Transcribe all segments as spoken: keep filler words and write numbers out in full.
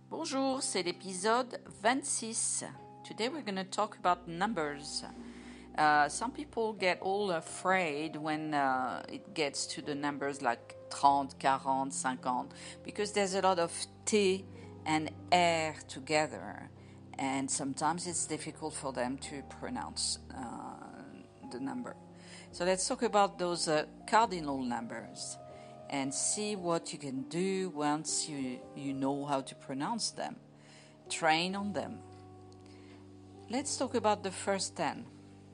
Bonjour, c'est l'épisode vingt-six. Today we're going to talk about numbers. Uh, some people get all afraid when uh, it gets to the numbers like thirty, forty, fifty, because there's a lot of T and R together, and sometimes it's difficult for them to pronounce uh, the number. So let's talk about those uh, cardinal numbers and see what you can do once you, you know how to pronounce them. Train on them. Let's talk about the first ten.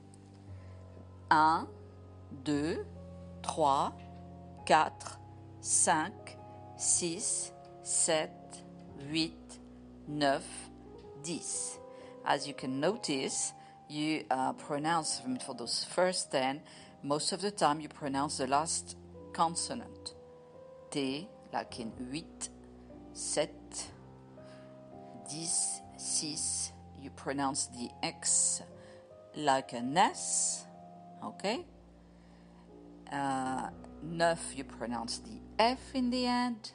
un, deux, trois, quatre, cinq, six, sept, huit, neuf, dix. As you can notice, you uh, pronounce, for those first ten, most of the time you pronounce the last consonant. T, like in huit, sept, dix, six. You pronounce the X like an S, okay? Uh, neuf, you pronounce the F in the end.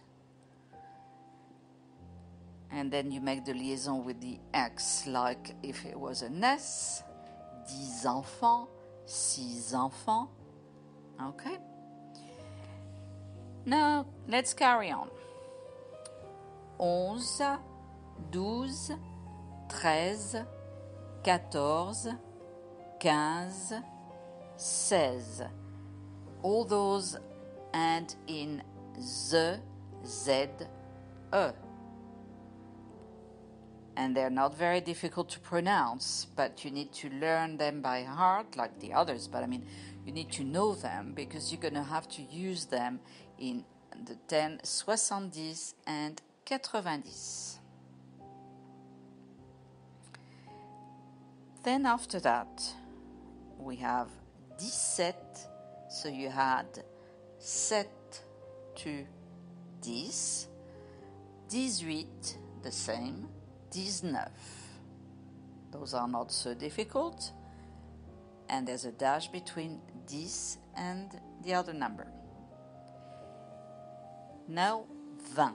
And then you make the liaison with the X like if it was an S. Dix enfants, six enfants, okay? Now, let's carry on. Onze, douze, treize, quatorze, quinze, seize. All those end in Z, Z, E. And they're not very difficult to pronounce, but you need to learn them by heart like the others. But I mean, you need to know them because you're going to have to use them in the ten, soixante-dix and quatre-vingt-dix. Then after that, we have dix-sept. So you had sept to dix. dix-huit, the same. dix-neuf. Those are not so difficult. And there's a dash between dix and the other number. Now, vingt.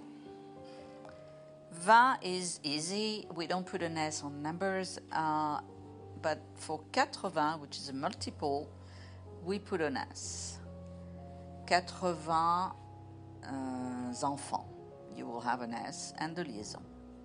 vingt is easy. We don't put an S on numbers. Uh, but for quatre-vingts, which is a multiple, we put an S. quatre-vingts uh, enfants. You will have an S and the liaison.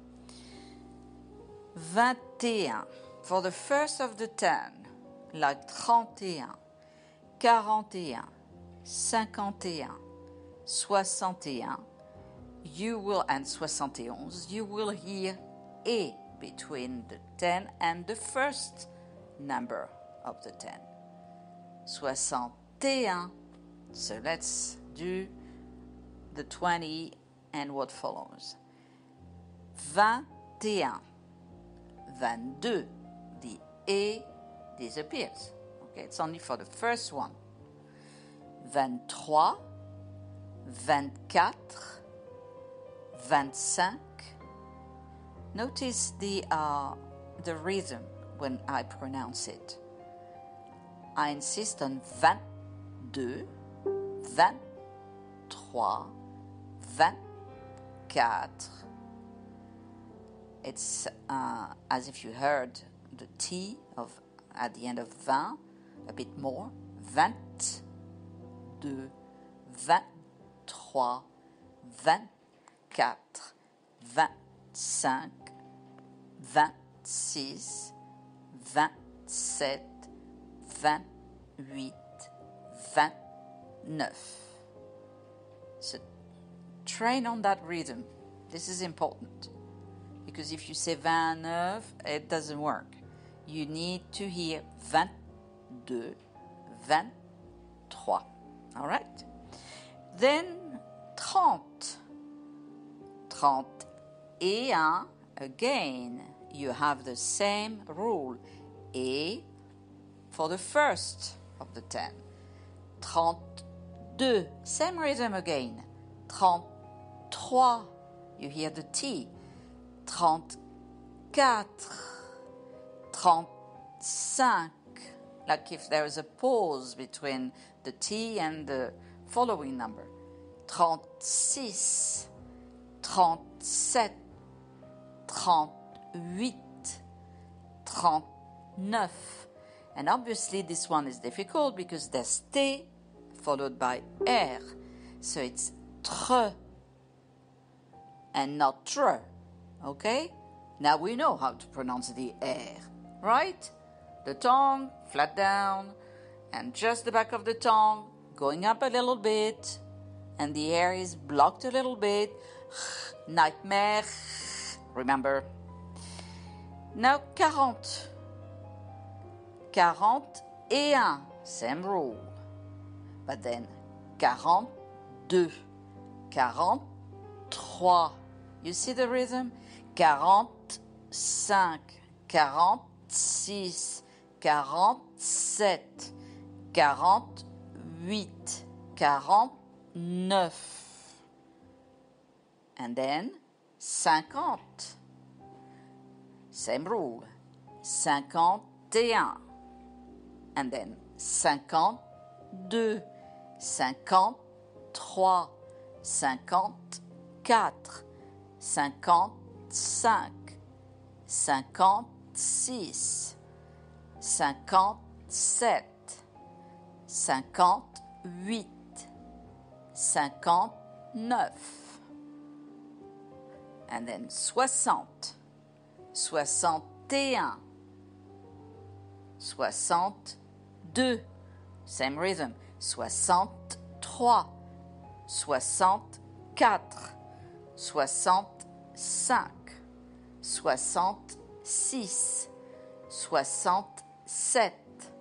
vingt et un. For the first of the ten, like trente et un, quarante et un, cinquante et un, soixante et un, you will, and soixante et onze, you will hear A between the ten and the first number of the ten. Soixante et un. So let's do the twenty and what follows. Vingt et un. vingt-deux. The A disappears. Okay, it's only for the first one. vingt-trois. vingt-quatre. vingt-cinq. Notice the uh, the rhythm when I pronounce it. I insist on vingt-deux, vingt-trois, vingt-quatre. It's uh, as if you heard the T of at the end of vingt a bit more. vingt-deux, vingt-trois, vingt-quatre, vingt-cinq, vingt-six, vingt-sept, vingt-huit, vingt-neuf. So train on that rhythm. This is important. Because if you say vingt-neuf, it doesn't work. You need to hear vingt-deux, vingt-trois. All right? Then trente. Trente et un. Again, you have the same rule. A for the first of the ten. Trente-deux. Same rhythm again. Trente-trois. You hear the T. Trente-quatre. Trente-cinq. Like if there is a pause between the T and the following number. Trente-six. Trente-sept. trente-huit, trente-neuf. And obviously this one is difficult because there's T followed by R. So it's tr and not tr. Okay? Now we know how to pronounce the R, right? The tongue flat down and just the back of the tongue going up a little bit and the air is blocked a little bit. Nightmare. Remember? Now quarante. quarante et un. Same rule. But then quarante-deux. quarante-trois. You see the rhythm? quarante-cinq. quarante-six. quarante-sept. quarante-huit. quarante-neuf. And then cinquante. Same rule. cinquante et un. And then cinquante-deux. cinquante-trois. cinquante-quatre. cinquante-cinq. cinquante-six. cinquante-sept. cinquante-huit. cinquante-neuf. And then soixante. soixante et un. soixante-deux. Same rhythm. soixante-trois. soixante-quatre. soixante-cinq. soixante-six. soixante-sept.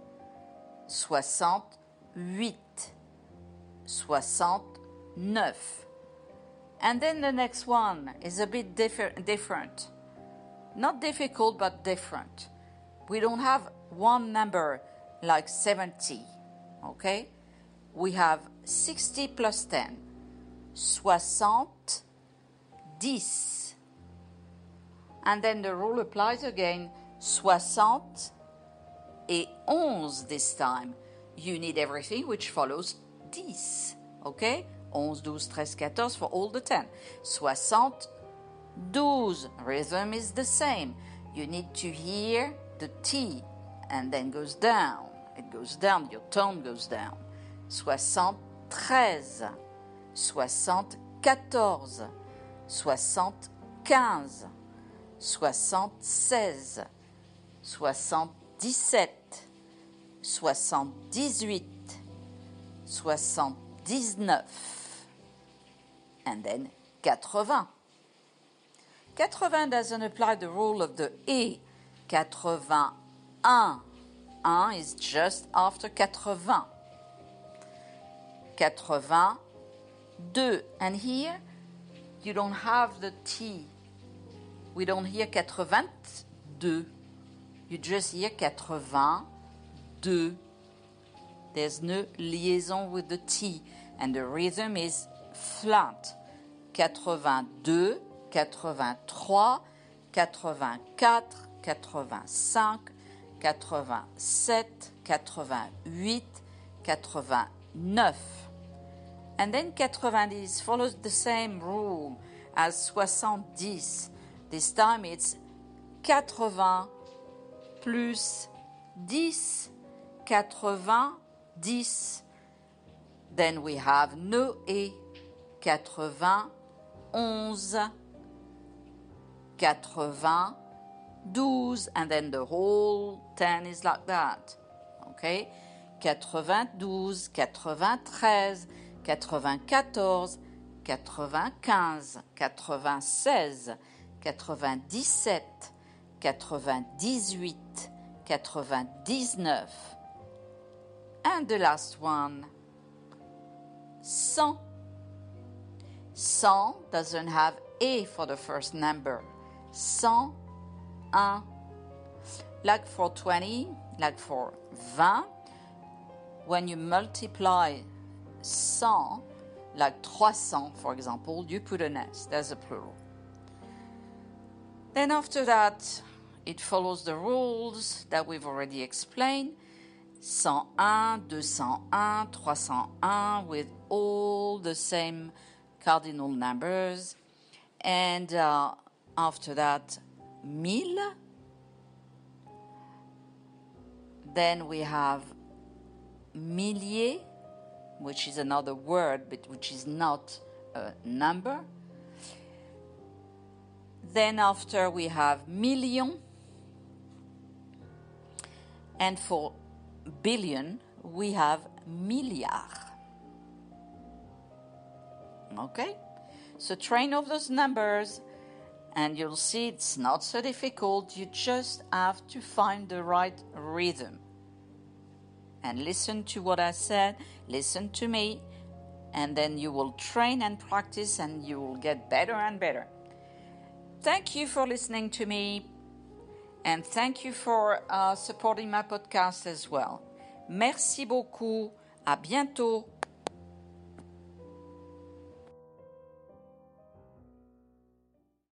soixante-huit. soixante-neuf. And then the next one is a bit differ- different. Not difficult, but different. We don't have one number like seventy, okay? We have sixty plus ten. soixante, dix. And then the rule applies again. soixante et onze this time. You need everything which follows dix, okay? onze, douze, treize, quatorze for all the ten. soixante, douze. Rhythm is the same. You need to hear the T and then goes down. It goes down, your tone goes down. soixante-treize. soixante-quatorze. soixante-quinze. soixante-seize. soixante-dix-sept. soixante-dix-huit. soixante-dix-neuf. And then quatre-vingts. quatre-vingts doesn't apply the rule of the E. quatre-vingt-un. un is just after quatre-vingts. quatre-vingt-deux. And here, you don't have the T. We don't hear quatre-vingt-deux. You just hear quatre-vingt-deux. There's no liaison with the T. And the rhythm is flat. quatre-vingt-deux, quatre-vingt-trois, quatre-vingt-quatre, quatre-vingt-cinq, quatre-vingt-sept, quatre-vingt-huit, quatre-vingt-neuf. And then quatre-vingt-dix follows the same rule as soixante-dix. This time it's quatre-vingts plus dix, quatre-vingt-dix. Then we have no E. quatre-vingt-onze, quatre-vingt-douze, and then the whole ten is like that. Okay? quatre-vingt-douze, quatre-vingt-treize, quatre-vingt-quatorze, quatre-vingt-quinze, quatre-vingt-seize, quatre-vingt-dix-sept, quatre-vingt-dix-huit, quatre-vingt-dix-neuf. And the last one, cent. cent doesn't have A for the first number. cent un. Like for twenty, like for vingt, when you multiply cent, like trois cents, for example, you put an S. There's a plural. Then after that, it follows the rules that we've already explained. cent un, deux cent un, trois cent un, with all the same cardinal numbers. And uh, after that, mille. Then we have millier, which is another word, but which is not a number. Then after we have million. And for billion, we have milliard. Okay? So train of those numbers, and you'll see it's not so difficult. You just have to find the right rhythm. And listen to what I said, listen to me, and then you will train and practice, and you will get better and better. Thank you for listening to me, and thank you for uh, supporting my podcast as well. Merci beaucoup. À bientôt.